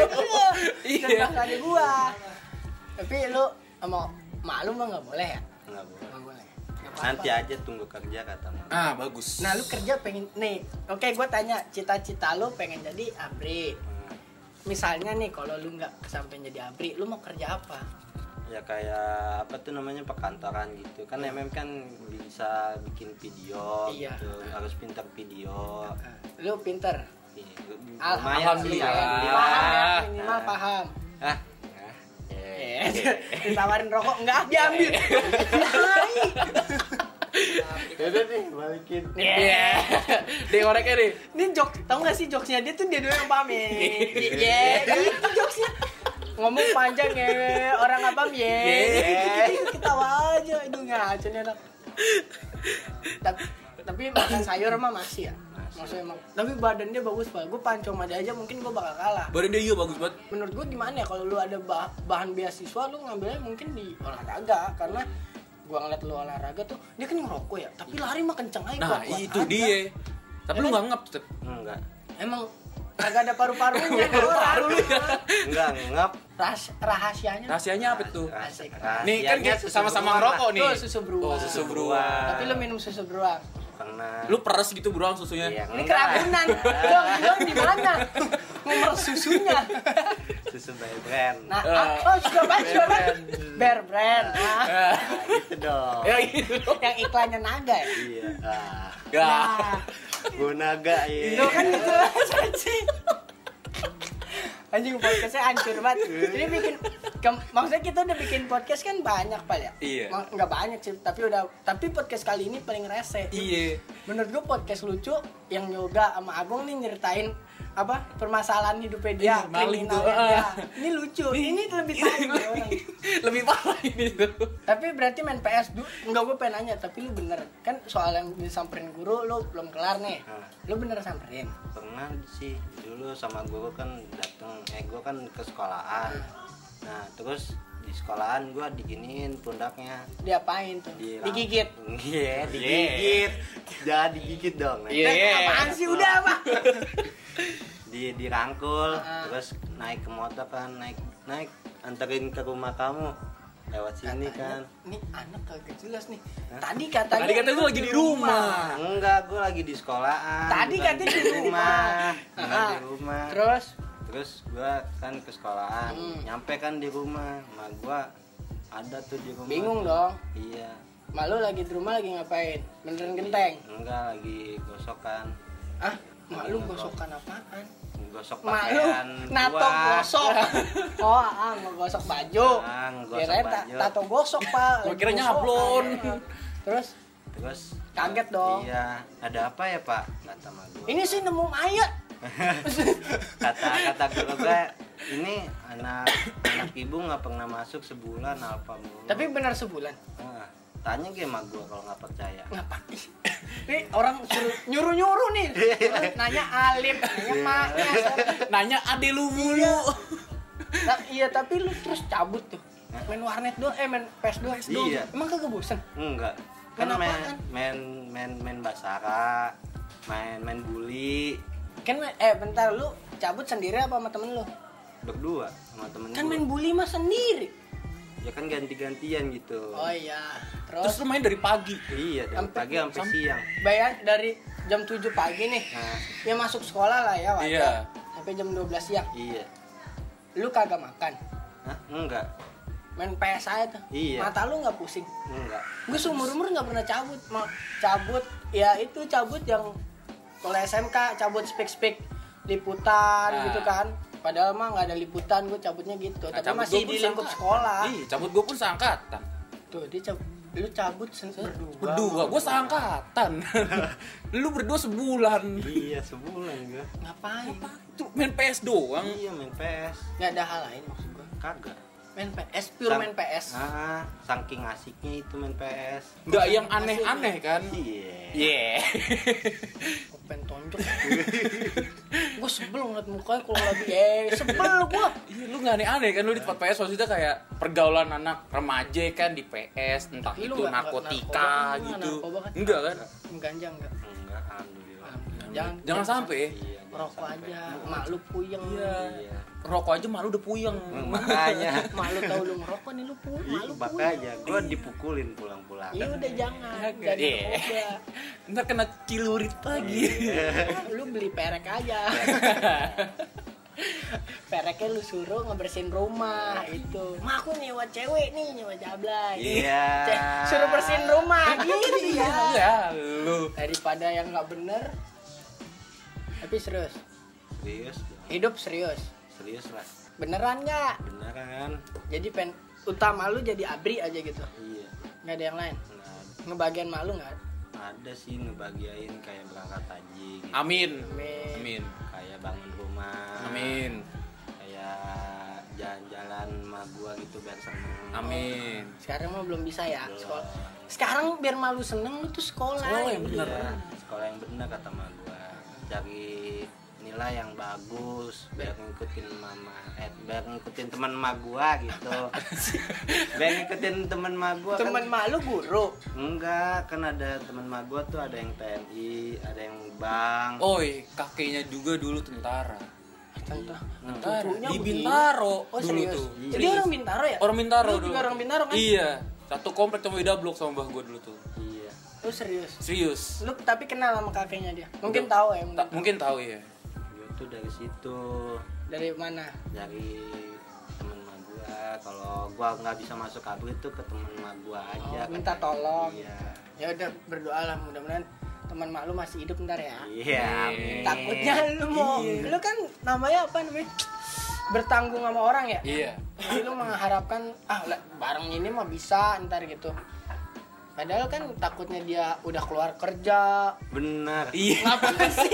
Iya. Iya. Adik gua. Tapi lu sama malu mah nggak boleh ya? Nggak boleh. Nggak boleh. Nggak apa-apa. Nanti aja tunggu kerja kata mama. Ah, bagus. Nah, lu kerja pengen nih. Oke, gua tanya, cita-cita lu pengen jadi abri. Hmm, Misalnya nih kalau lu nggak kesampaian jadi abri, lu mau kerja apa? ya kayak apa tuh namanya perkantoran gitu kan M M kan bisa bikin video Iya. gitu harus pintar video. Lu pinter. Iya, Alhamdulillah. lumayan sih, Alhamdulillah. Paham ya, Ah. minimal paham. ah ah, Eh, eh. ditawarin rokok enggak diambil. Udah nih balikin. Iya. Dia ngoreknya nih. Ini jok, tau gak sih jokesnya dia tuh dia doang yang pamit. Iya, itu jokesnya. Ngomong panjang ya, orang apa ya? Gitu ketawa aja, itu ngaco nih anak. Tapi tapi makan sayur mah masih ya. Maksudnya emang. Tapi badan dia bagus pak. Gue pancong aja aja mungkin gue bakal kalah. Badan dia iya bagus banget. Menurut gue gimana ya kalau lu ada bah- bahan beasiswa lu ngambilnya mungkin di olahraga karena gua ngeliat lu olahraga tuh dia kan ngerokok ya tapi lari mah kenceng aja Nah, kuat-kuat itu aja. dia. Tapi lu nggak ngap tuh. Enggak. Emang kagak ada paru-parunya kan orang. Paru lu ya. Enggak ngap. Rahas- rahasianya. Rahasianya apa tuh? Asik. Nih kan Rahasianya kita susu sama-sama beruang ngerokok lah. nih. Tuh, susu beruang. Oh, susu beruang. Tapi lu minum susu beruang. Pernah. Lu peres gitu beruang susunya. Iya, Ini enggak. keracunan. Dong, dong di mana? Memeres susunya. Susu by brand. Nah, Eh. ah, oh suka banget, suka banget. Bear brand. Nah, Ah. Nah, gitu dong. Ya gitu. yang iklannya naga ya. Iya. Ah. Ya. Nah, Gunaga ya. itu kan gitu anjing. Anjing podcastnya hancur banget. Jadi bikin ke- maksudnya kita udah bikin podcast kan banyak Pal ya. Iya. Ma- Nggak banyak sih, tapi udah tapi podcast kali ini paling rese. Iya. Menurut gua podcast lucu yang Yoga sama Agung nih nyeritain apa permasalahan hidupnya dia, Iya, maling tuh. kriminalnya dia. Ah. Ini lucu. Ini lebih tahu orang. Lebih parah ini tuh. Tapi berarti main P S dulu enggak, gue pengen nanya, tapi lu bener kan soal yang disamperin guru lu belum kelar nih. Hah. Lu bener samperin? Pernah sih dulu sama guru kan datang, eh gue kan ke sekolahan. Nah terus di sekolahan gue diginiin pundaknya. Diapain tuh? Di- Digigit. Iya, digigit. Jangan digigit dong. Nah, Iya. Eh, apaan sih udah apa? di dirangkul, Ah. terus naik ke motor kan, naik naik anterin ke rumah kamu lewat sini kan. Nih anak kagak jelas nih. Tadi katanya Tadi katanya lu lu lagi di rumah. Enggak, gue lagi di sekolahan. Tadi bukan katanya di rumah. Bukan Ah. di rumah. Terus Terus gue kan ke sekolahan, Hmm. nyampe kan di rumah, sama gue ada tuh di rumah. bingung dong. Iya, Malu lagi di rumah lagi ngapain? Beneran genteng? enggak lagi gosokan, Ah, malu gosokan apaan? gosok Malu pakaian nato gua. gosok. Oh, ah ngegosok baju. Ah, ngegosok Kirain ta- baju. tato gosok, Pak. Gua Lagi kira gosokan. nyablon. Terus Terus Kaget dong. Iya, ada apa ya Pak? Kata sama gue. ini sih nemu mayat. kata kata guru gue, ini anak anak ibu nggak pernah masuk sebulan apa mulu. Tapi benar sebulan. Nah, tanya ke emak gue kalau nggak percaya. Ngapain? Nih orang suruh nyuruh-nyuruh nih. Nanya Alif, nanya maknya. Nanya ade lu mulu. Nah, iya tapi lu terus cabut tuh. Main warnet doang, eh main P S doang. Iya. Emang kagak bosan? Enggak. Kan Kenapa main kan? main main main basara, main main bully Kan main- eh bentar lu cabut sendiri apa sama temen lu? berdua sama temen Kan gua. main bully mah sendiri. Ya kan ganti-gantian gitu. Oh iya. Terus Terus, lu main dari pagi. Iya, dari Sampai- pagi sampai sampai- siang. bayar dari jam tujuh pagi nih. Nah, Ya masuk sekolah lah ya wajar. Iya. Sampai jam dua belas siang. iya. Lu kagak makan. Hah? Enggak. Main P S aja tuh. Iya. Mata lu nggak pusing. Enggak. Gue seumur-umur nggak pernah cabut. Mau cabut ya itu cabut yang kalau S M K cabut speak-speak liputan Nah. gitu kan. Padahal mah nggak ada liputan, gue cabutnya gitu. Nah, Tapi cabut masih gua pun di lingkup seangkatan. sekolah. Iya, cabut gua pun seangkatan. Tuh dia cabut, lu cabut sen- berdua. Berdua, gua seangkatan. Lu berdua sebulan. Iya, sebulan gua. Ngapain? Tuh main P S doang. Iya, main P S. Nggak ada hal lain maksud gue. Kagak. Main P S, pure Sang- main P S. Ah, saking asiknya itu main P S. Enggak yang aneh-aneh kan? Iya. Iya. Gue pengen tonjok. Gue sebel ngeliat mukanya kalau lagi eh sebel gue. Iya, lu nggak aneh-aneh kan lu di tempat P S maksudnya kayak pergaulan anak remaja kan di P S, entah Tapi lu itu nggak- narkotika narkoba kan, gitu. narkoba kan. Enggak kan? Ganja enggak? Enggak, alhamdulillah. Jangan Jangan sampai. Iya, jangan rokok sampai. aja. Mak lu puyeng. Iya. Iya. Rokok aja malu udah puyeng. Hmm, Makanya. Mak lu tahu lu ngerokok nih lu puyeng. Mak Iya, lu makanya puyeng. gua dipukulin pulang-pulang. Iya udah jangan. Iya. Jadi narkoba. Ntar kena cilurit lagi. Lu beli perek aja. Pereknya lu suruh ngebersihin rumah itu. Mak aku nyewa cewek nih, nyewa jablay. Iya. Ce- Suruh bersihin rumah gitu ya. Ya, lu. Daripada yang nggak bener. Tapi serius. Serius, Hidup serius. serius lah. Beneran nggak? Beneran. Jadi pen utama lu jadi abri aja gitu. Iya. Nggak ada yang lain. Nah, Ngebagian malu nggak? ada sih ngebagiain kayak berangkat haji gitu. Amin. Amin. Amin. Kayak bangun rumah. Amin. Kayak jalan-jalan sama gua gitu biar seneng. Amin. Sekarang mah belum bisa ya Belum. sekolah. Sekarang biar malu seneng lu tuh sekolah. Sekolah yang bener. Iya, sekolah yang bener kata ma gua. Cari nilai yang bagus biar ngikutin mama eh biar ngikutin teman emak gua gitu. Biar ngikutin teman emak gua. Teman kan, emak lu guru? enggak, kan ada teman emak gua tuh ada yang T N I, ada yang bank. Oi, kakeknya juga dulu tentara. Tentara. Tentara. Cucunya Di begini. Bintaro Oh, dulu serius? tuh. Jadi Serius. orang Bintaro ya? Orang Bintaro Lu dulu. juga orang Bintaro kan? Iya. Satu komplek sama beda blok sama mbah gua dulu tuh. Iya. Lu serius? Serius. Lu tapi kenal sama kakeknya dia? Mungkin Udah. tahu ya? Ta- mungkin tahu ya. Gua tuh dari situ, Dari mana? dari temen emak gua. Kalau gua nggak bisa masuk kabur itu ke temen emak gua aja. Oh, minta katanya. tolong. Iya. Ya udah berdoa lah, mudah-mudahan teman mak lu masih hidup ntar ya. Iya. amin. Takutnya lu mau, Iya. lu kan namanya apa namanya? Bertanggung sama orang ya. Iya. Jadi lu mengharapkan ah lah, bareng ini mah bisa ntar gitu. Padahal kan takutnya dia udah keluar kerja. Benar. Iya. Ngapain sih?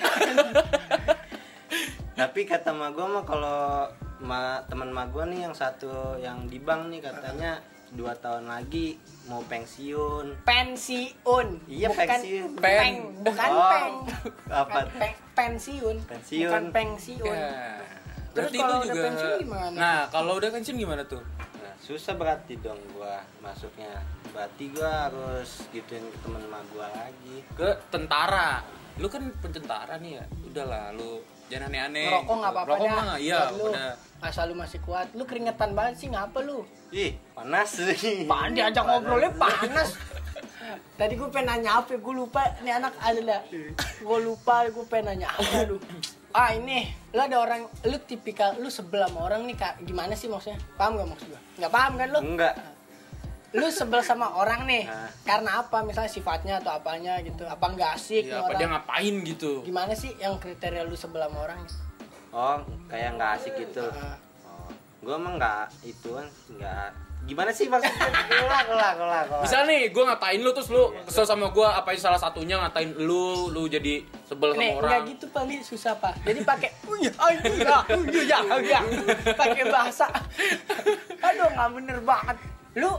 Tapi kata emak gua mah kalau ma, teman emak gua nih yang satu yang di bank nih katanya dua tahun lagi mau pensiun. Pensiun. Iya, bukan pensiun. Peng, Pen. bukan Oh, peng. apa Bukan peng, pensiun. Pensiun. Bukan pensiun. Ya. Terus Berarti kalau lu udah juga. pensiun gimana? Nah, kalau udah pensiun gimana tuh? Nah, susah berarti dong gua masuknya. Berarti gua harus gituin ke temen emak gua lagi. Ke tentara. Lu kan pententara nih ya. Udahlah, lu jangan aneh-aneh. Ngerokok nggak apa-apa Rokok dah. mah, iya, Buat lu. udah. Asal lu masih kuat. Lu keringetan banget sih, ngapa lu? Ih, panas sih. Pan diajak ngobrolnya panas. Tadi gue pengen nanya apa, gue lupa. Ini anak ada. Gue lupa, gue pengen nanya apa lu. Ah ini, lu ada orang, lu tipikal, lu sebel sama orang nih kak, gimana sih maksudnya? Paham gak maksud gue? Gak paham kan lu? Enggak. Lu sebel sama orang nih, Nah. karena apa? Misalnya sifatnya atau apanya gitu? Apa nggak asik nih Iya, apa orang? dia ngapain gitu. Gimana sih yang kriteria lu sebel sama orang? Oh, kayak nggak asik gitu. Ah. Oh, gua emang nggak ituan, nggak. Gimana sih maksudnya? Ulang, ulang, ulang, ulang. Misal nih, gue ngatain lu terus lu kesel sama gue, apain salah satunya ngatain lu, lu jadi sebel sama Nih, orang. nggak gitu Pak, Li, susah Pak. Jadi pakai uya, uya, uya, uya, pakai bahasa. Aduh, nggak bener banget. Lu,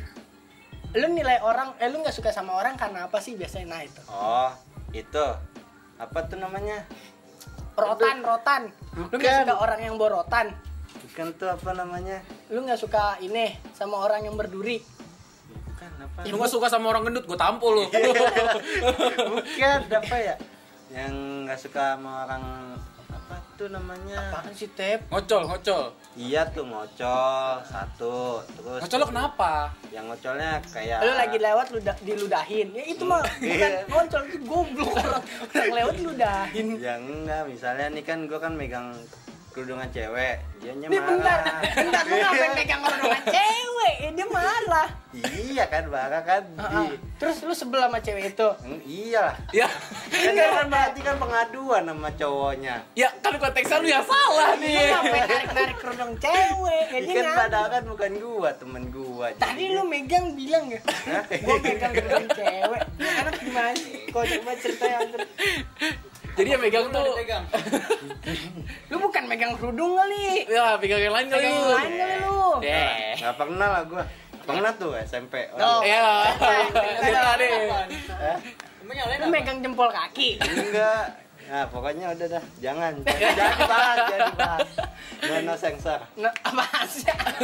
lu nilai orang, eh lu nggak suka sama orang karena apa sih biasanya? Nah itu. Oh, itu. Apa tuh namanya? Rotan, rotan. Lu nggak Bukan. suka orang yang borotan. Bukan tuh apa namanya? Lu nggak suka ini sama orang yang berduri. Bukan apa? Lu gak suka sama orang gendut, gue tampol lu. Bukan apa ya? Yang nggak suka sama orang apa tuh namanya? Apaan sih Tep? Ngocol, ngocol. Iya tuh ngocol satu, terus Ngocol lu kenapa? yang ngocolnya kayak Lu lagi lewat lu da- diludahin. Ya itu mah bukan ngoncol, itu goblok orang. Orang lewat ludahin. ya enggak, misalnya nih kan gua kan megang kerudungan cewek, dia Nih bentar, bentar lu ngapain pegang kerudungan cewek? Eh, dia marah. Iya kan, marah kan. Ah, ah. Di, Terus lu sebel sama cewek itu? Eng, iyalah. Ya, Kan dia kan berarti kan pengaduan sama cowoknya. ya kan konteksnya lu yang salah Lu nih. ngapain narik-narik kerudung cewek? Ya Ini dia kan ngadu. padahal kan bukan gua, temen gua. Tadi lu megang bilang ya? Hah? Gua megang kerudung cewek. Ini anak gimana sih? Kau coba cerita yang ter... Jadi yang megang tuh, Lu bukan megang kerudung kali. ya pegang yang lain kali Megang lu. yang lain kali lu. Eh, Nggak pernah lah gua. Pernah tuh S M P. Oh. ya, cerita deh. Eh? Lu megang jempol kaki. Enggak. Nah, pokoknya udah dah, jangan. Jangan, jangan dibahas, jangan dibahas. No, no sensor. Nah, apaan sih?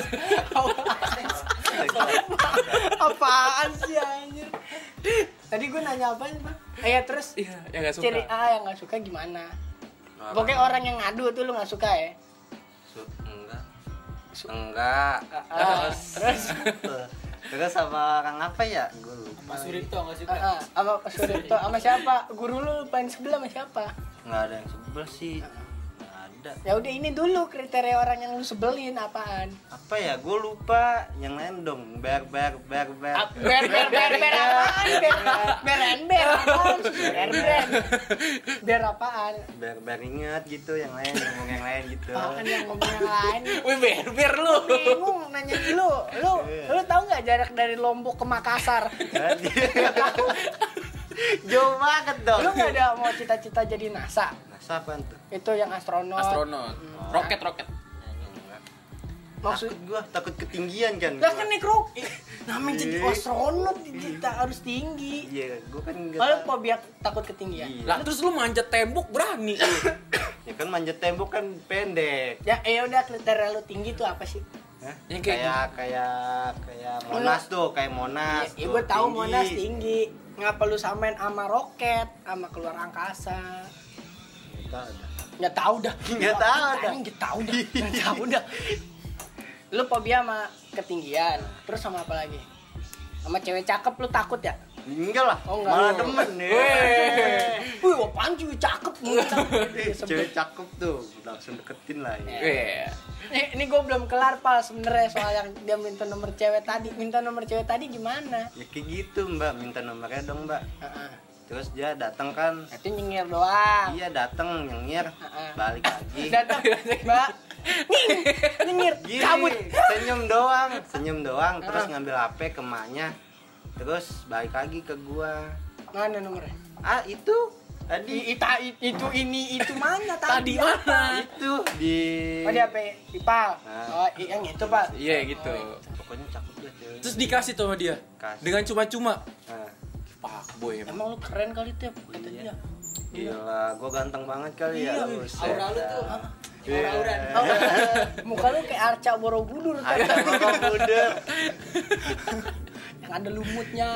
Apaan sih? Apaan sih anjir? Tadi gue nanya apa sih, Bang? Eh, ya, terus Iya, yang gak suka. ciri A yang gak suka gimana? Pokoknya orang yang ngadu tuh lu gak suka ya? Su- enggak. Enggak. Ah, terus Terus sama orang apa ya? Gue lupa. Mas Suripto nggak suka? ah, ah, sama Pak Suripto sama siapa? Guru lu paling sebelah sama siapa? Enggak ada yang sebel sih. Enggak ada. Ya udah ini dulu kriteria orang yang lu sebelin apaan? Apa ya? Gue lupa. Yang lain dong. Ber ber ber ber. Ah, ber ber ber ber apaan? Ber ber ember apaan? Ber ber ber apaan? Ber ber inget gitu. Yang lain ngomong yang lain gitu. Apaan yang ngomong yang lain? Wih, ber-ber lu. Bingung nanya lu, lu lu tahu nggak jarak dari Lombok ke Makassar? Jauh banget dong. Lu nggak ada mau cita-cita jadi NASA? NASA apaan tuh? Itu yang astronot. Astronot. Roket, roket. Enggak. Maksud takut gua takut ketinggian kan. lah gua. kan naik roket. Namanya jadi Iya. astronot kita harus tinggi. Iya, gua kan enggak. Kalau fobia takut ketinggian. Iya. Lah terus lu manjat tembok berani lu. Ya kan manjat tembok kan pendek. Ya, eh udah kriteria lu tinggi tuh apa sih? Hah? Yang kayak kayak kayak kayak Monas tuh, kayak Monas. Iya, tuh, gue tahu tinggi. Monas tinggi. Ngapa lu samain sama roket, sama keluar angkasa? Nggak tahu dah. Nggak tahu dah. Nggak tahu dah. Nggak tahu dah. Nggak tahu dah. Lu fobia sama ketinggian. Terus sama apa lagi? Sama cewek cakep lu takut ya? Enggak lah, Oh, enggak. malah demen nih. Wih, apaan cewek cakep? Cewek cakep tuh, langsung deketin lah ya. Iya. Ini, ini gue belum kelar pal sebenarnya soal yang dia minta nomor cewek tadi. Minta nomor cewek tadi gimana? Ya kayak gitu mbak, minta nomornya dong mbak. Heeh. Terus dia datang kan, Itu nyengir doang. iya datang nyengir, Heeh. balik lagi. Datang, Mbak. Ning, nyengir, Gini, cabut. senyum doang, senyum doang, terus Ah. ngambil H P ke emaknya, terus balik lagi ke gua. Mana nomornya? Ah itu I, tadi, ita, i- itu ini itu mana Tadi tadi? mana? itu di. Oh di H P Ipal. Nah. Oh i- yang itu Pak. Iya gitu. Pokoknya cakep deh cewek. Terus dikasih tuh sama dia. Kasih. Dengan cuma-cuma. Nah, Pak boy emang. Emang lu keren kali tuh kata Iya. dia. gila, gua ganteng banget kali ya. Iya, Buset. aura lu tuh. Hah? Iya. Aura-auran. Oh, muka lu kayak Arca Borobudur kan. Ada Borobudur. Yang ada lumutnya.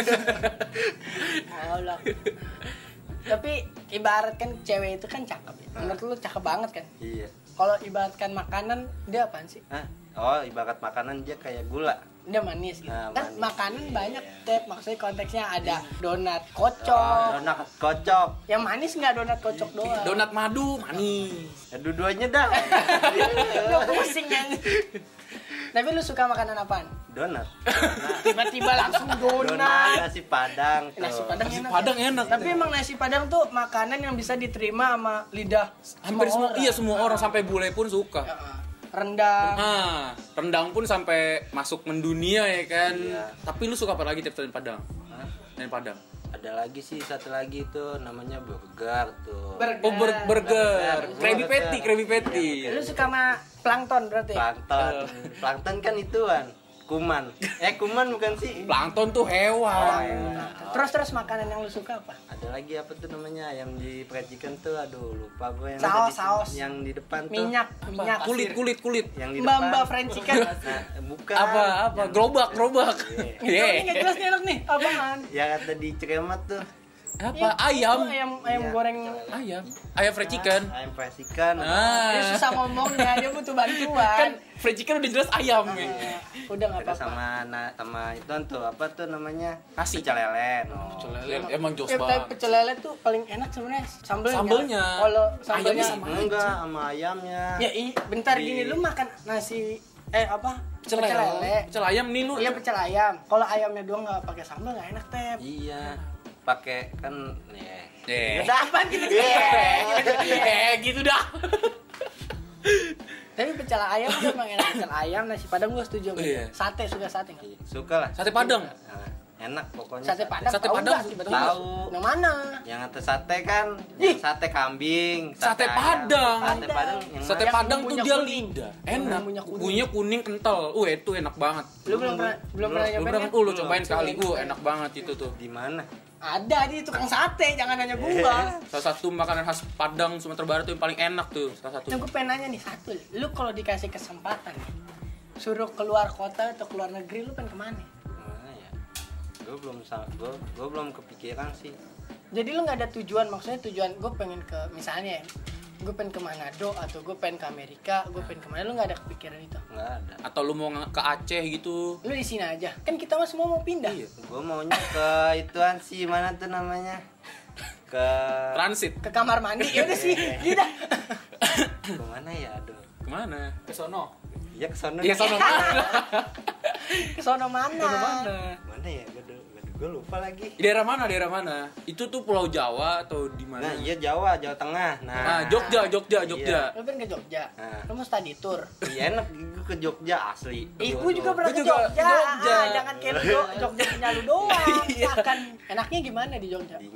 Allah. Tapi ibaratkan cewek itu kan cakep ya. Menurut lu cakep banget kan? Iya. Kalau ibaratkan makanan dia apaan sih? Hah? Oh, ibarat makanan dia kayak gula. Dia manis gitu. Nah, Kan manis. makanan banyak, Tep. Maksudnya konteksnya ada donat Oh, kocok. donat kocok. Yang manis nggak donat kocok doang. Donat madu manis. Ya, dua-duanya dah. Lu pusing kan. Tapi lu suka makanan apaan? Donat. Tiba-tiba langsung Donat, donat. nasi padang. Tuh. Nasi padang Nasi enak. padang enak. Tapi emang nasi padang tuh makanan yang bisa diterima sama lidah Hampir semua, orang. iya semua orang sampai bule pun suka. Heeh. Rendang. Ah, rendang pun sampai masuk mendunia ya kan. Iya. Tapi lu suka apa lagi tiap selain Padang? Hah? Selain Padang. Ada lagi sih satu lagi tuh namanya burger tuh. Burger. Oh ber- burger, Burger. Krabby Burger. Patty, Krabby Patty. Lu suka sama plankton berarti? Plankton. Eh. Plankton kan ituan. Kuman. Eh kuman bukan sih? Plankton tuh hewan. Terus terus makanan yang lu suka apa? Ada lagi apa tuh namanya ayam di fried chicken tuh, aduh lupa gue yang Saus, ada di- saus. yang di depan tuh. Minyak, minyak. Kulit, kulit, kulit. Yang di Mbak depan. Mbak fried chicken. Nah, bukan. Apa, apa? Yang- Gerobak, gerobak. Itu Iya. ini nggak jelas nih enak nih. Apaan? Yang ada di Ciremat tuh. Apa? Iya, Ayam. itu ayam ayam Iya. goreng. Ayam. Ayam fried chicken. Ayam fried chicken. Dia Ah. susah ngomongnya, dia butuh Kan bantuan. fried chicken udah jelas ayam. ya. Eh, Udah nggak Ada apa-apa. sama na, sama itu tuh apa tuh namanya? Nasi. Pecel lele. No. Pecel lele emang jos Ya, tapi banget. pecel lele tuh paling enak sebenarnya sambelnya. Sambelnya. Kalau sambelnya Ayamnya sama. Enggak, sama ayamnya. Ya i, bentar Di- gini lu makan nasi eh apa? Pecel lele. Pecel ayam nih lu. Iya pecel ayam. Kalau ayamnya doang nggak pakai sambal nggak enak tep. Iya. Pakai kan ya. Eh. Udah apaan gitu? Eh, gitu dah. Tapi pecel ayam tuh emang enak. Pecel ayam nasi padang gua setuju. sama Iya. dia. Sate suka sate nggak? Iya, suka lah. Sate Padang. Nah, enak pokoknya. Sate padang. Sate tahu Padang nggak? sih, Tiba-tiba. tahu. Yang mana? Yang atas sate kan, Ih. yang sate kambing, Sate ayam. Padang. Sate padang yang Sate Yang Padang tuh bumbunya dia kuning. lidah. Yang Enak. bumbunya kuning. Bumbunya kuning kental. Uh, itu enak banget. Lu belum pernah belum pernah Lu nyobain pernah kan? kan? Uh, lu Belum. cobain sekali. Uh, enak banget itu tuh. di mana? Ada di tukang sate, jangan nanya gua. Salah satu makanan khas Padang Sumatera Barat tuh yang paling enak tuh. Salah satu. Yang gue pengen nanya nih satu, lu kalau dikasih kesempatan nih, suruh keluar kota atau keluar negeri, lu pengen kemana? Mana ya? Gue belum gue gue belum kepikiran sih. Jadi lu nggak ada tujuan, maksudnya tujuan gue pengen ke misalnya, gue pengen ke Manado atau gue pengen ke Amerika, gue pengen kemana? Lu nggak ada kepikiran itu? Nggak ada. Atau lu mau nge- ke Aceh gitu. Lu di sini aja, kan kita mah semua mau pindah. Iya. Gue maunya ke ituan sih, mana tuh namanya? Ke Transit. Ke kamar mandi, ya udah sih, gitu. ke mana ya? Aduh. Kemana? Ke sono. Ya ke sono. Iya, sono mana? Ke sono mana? Sono mana? Mana ya? Gue gue lupa lagi. Di daerah mana? Daerah mana? Itu tuh Pulau Jawa atau di mana? Nah, iya Jawa, Jawa Tengah. Nah, Ah, Jogja, Jogja, Jogja. Lu pengen ke Jogja, Nah. lu mau study tour. Iya enak gue ke Jogja asli. Ih, Gua gue juga tuh. pernah Gua ke juga Jogja. ke Jogja. Ah, jangan kayak lu, Jogja punya lu doang. Iya. Akan enaknya gimana di Jogja? Dingin.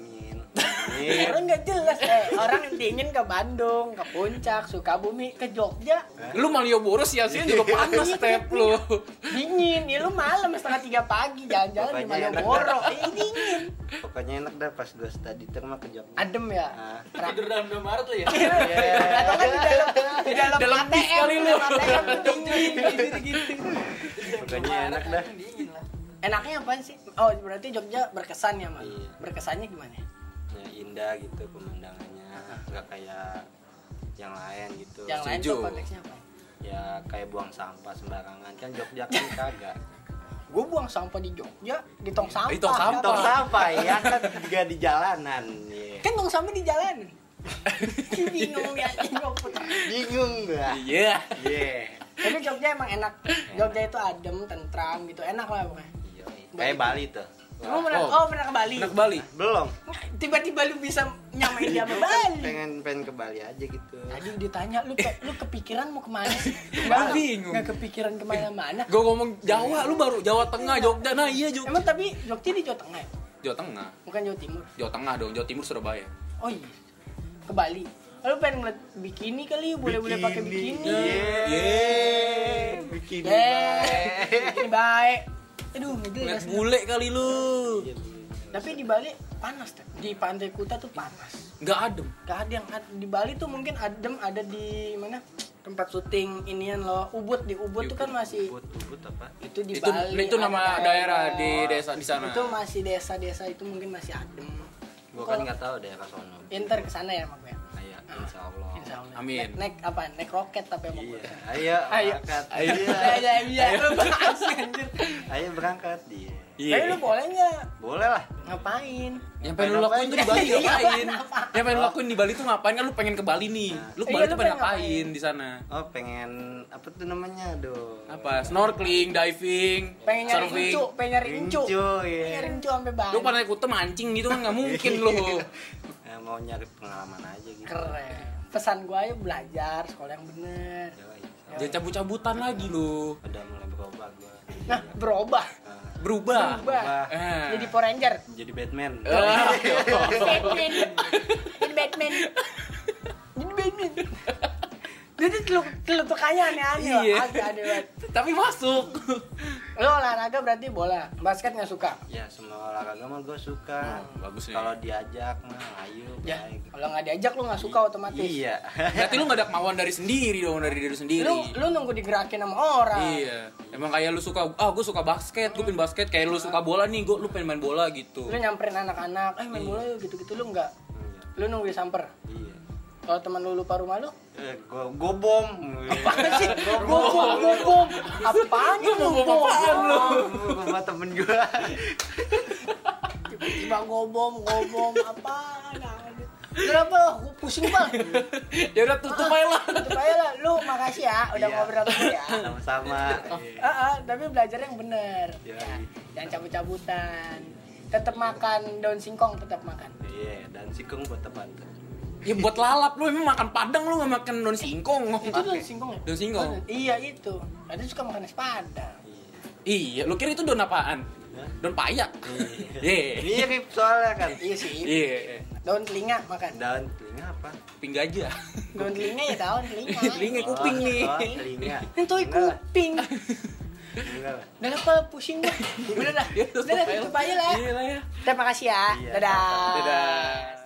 Iya. Orang nggak jelas eh orang dingin ke Bandung, ke Puncak, Sukabumi, ke Jogja. Lu Malioboro siang-siang juga panas step lu. Dingin, ya lu malam setengah tiga pagi jalan-jalan di Pokoknya enak Malioboro. dah. Eh dingin. Pokoknya enak dah pas gue study tour mah ke Jogja. Adem ya. Ah. Tidur dalam Indomaret lu ya? Atau kan di dalam di dalam, Dalam A T M bis kali lu. dalam A T M tuh dingin gitu-gitu. Pokoknya enak dah. Dingin lah. Enaknya apaan sih? Oh, berarti Jogja berkesan ya, Mas? Iya. Berkesannya gimana? Ya indah gitu pemandangannya, nggak kayak yang lain gitu. Yang lain Setuju. tuh konteksnya apa? Ya kayak buang sampah sembarangan kan Jogja kan kagak. Gue buang sampah di Jogja, di tong sampah. Di tong sampah. Tong sampah ya kan juga di jalanan. Iya. Kan tong sampah di jalan. Bingung ya, bingung putar. Bingung gua. Iya. Iya. Tapi Jogja emang enak. Jogja itu adem, tentram gitu, enak lah pokoknya. Iya. Kayak Bali tuh. Lu pernah, Oh. oh pernah ke Bali? Enak Bali. Belum. Tiba-tiba lu bisa nyamain dia sama Bali. Pengen pengen ke Bali aja gitu. Tadi ditanya lu pe- lu kepikiran mau kemana sih? Gua bingung. Nggak kepikiran kemana-mana. Gue ngomong Jawa, lu baru Jawa Tengah, Jogja. Nah iya Jogja. Emang tapi Jogja di Jawa Tengah ya? Jawa Tengah. Bukan Jawa Timur. Jawa Tengah dong, Jawa Timur Surabaya. Oh iya. Ke Bali. Lu pengen ngeliat bikini kali, boleh-boleh pakai bikini. Yeay. Bikini. Yeay. Bikini baik. Aduh, nggak jelas. Ngeliat bule kali lu. Iya, Tapi di Bali panas, Teh. Di Pantai Kuta tuh panas. Nggak adem. Gak ada yang ad- di Bali tuh mungkin adem ada di mana tempat syuting inian loh, Ubud. Di Ubud tuh kan masih Ubud, Ubud apa? itu di Itu Bali. itu ada nama daerah di desa di sana. Itu masih desa-desa itu mungkin masih adem. Gua kan nggak tahu daerah sono. Inter ke sana ya mak gue. Iya, insya Allah. Insya Allah. Amin. Naik, naik apa? Naik roket tapi sama Iya, gue. ayo, Ayo. berangkat. Ayo. Iya, iya, iya. Lu bahas anjir. Ayo berangkat dia. Iya. Tapi lu boleh nggak Boleh lah. ngapain? Yang pengen lu lakuin tuh di Bali Iya, ngapain? ngapain? Yang pengen lu lakuin di Bali tuh ngapain? Kan lu pengen ke Bali nih. Lu ke Iya, Bali lu tuh pengen pengen ngapain ngapain? di sana? Oh pengen apa tuh namanya aduh. Apa? Snorkeling, diving, Pengen nyari surfing. incu, pengen nyari incu. Incu, Pengen iya. nyari incu sampai Bali. Lu Pantai Kuta mancing gitu kan nggak mungkin lu. Ya, mau nyari pengalaman aja gitu. Keren. Pesan gua ayo belajar sekolah yang bener. Yoi. Jangan cabut-cabutan lagi lu. Udah mulai berubah gua. Nah, berubah. Nah, Berubah. Berubah. Eh. Jadi Power Ranger. jadi Batman. Ah. Batman. Jadi Batman. Jadi Batman. Jadi teluk telutukannya aneh-aneh. Iya. Loh. Agak aneh banget. Tapi masuk. Lo olahraga berarti bola. Basket nggak suka? Ya semua olahraga mah gue suka. Bagus nih. Kalau diajak mah ayo Ya. baik. Kalau nggak diajak lo nggak suka otomatis. Iya. Berarti lu gak ada kemauan dari sendiri dong, dari diri sendiri. Lu lu nunggu digerakin sama orang. Iya. Emang kayak lu suka, ah gue suka basket, gue pengen basket. Kayak lu suka bola nih, gue lu pengen main bola gitu. Lu nyamperin anak-anak, eh main bola yuk gitu-gitu lu nggak. Lu nunggu disamper. Iya. Kalau teman lu lupa rumah lu, Eh, gua gua bom. apaan sih? Gobom, gobom. Apaan lu gobom? Sama temen gua. Tiba-tiba gobom, gobom apaan? Kenapa? Gua pusing banget. Ya udah tutup aja lah. Tutup aja lah. Lu makasih ya udah Iya. ngobrol sama gue ya. Sama-sama. Ah, ah, tapi belajar yang bener. Iya. Ya, jangan cabut-cabutan. Tetap makan daun singkong, tetap makan. Iya, dan sikung buat teman tuh. Ya buat lalap lu emang makan padang lu gak makan daun singkong. Itu daun singkong ya? Daun singkong. Iya itu. Ada suka makan es padang. Iya, lu kira itu daun apaan? Hah? Daun payak. Iya. Mirip soalnya kan. Iya sih. Iya. Daun telinga makan. Daun telinga apa? Kuping gajah. Daun telinga ya daun telinga. Telinga kuping Oh, nih. Oh, telinga. Itu Enggak lah, kuping. enggak lah. Udah apa pusing gua. Udah dah. Ya, Udah dah tutup aja lah. Iya lah ya. Terima kasih ya. Iya, Dadah. Dadah.